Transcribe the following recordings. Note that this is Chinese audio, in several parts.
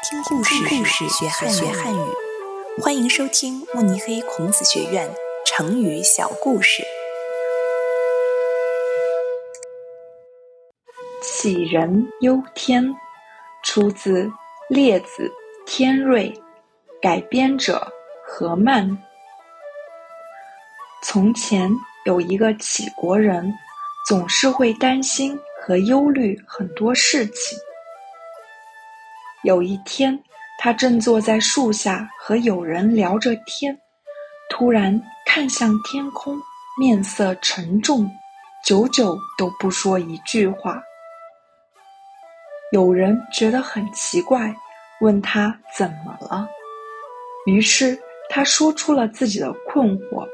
听故事学汉语，欢迎收听慕尼黑孔子学院成语小故事。 杞人忧天，出自《列子·天瑞》，改编者何曼。从前有一个杞国人，总是会担心和忧虑很多事情。有一天，他正坐在树下和友人聊着天，突然看向天空，面色沉重，久久都不说一句话。有人觉得很奇怪，问他怎么了。于是他说出了自己的困惑。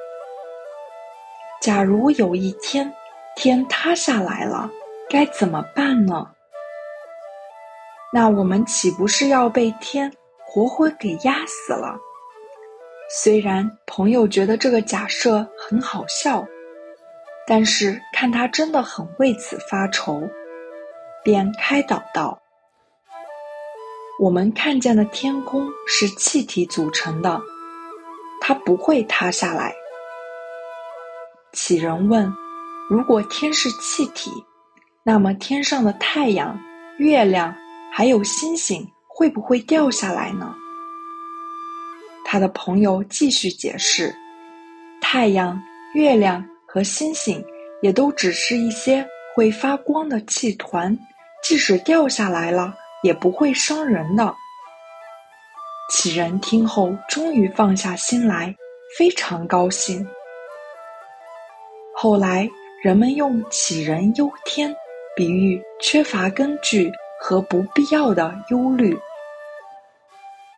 假如有一天天塌下来了，该怎么办呢？那我们岂不是要被天活活给压死了？虽然朋友觉得这个假设很好笑，但是看他真的很为此发愁，便开导道：我们看见的天空是气体组成的，它不会塌下来。杞人问：如果天是气体，那么天上的太阳、月亮还有星星会不会掉下来呢？他的朋友继续解释，太阳、月亮和星星也都只是一些会发光的气团，即使掉下来了也不会伤人的。杞人听后终于放下心来，非常高兴。后来人们用杞人忧天比喻缺乏根据和不必要的忧虑。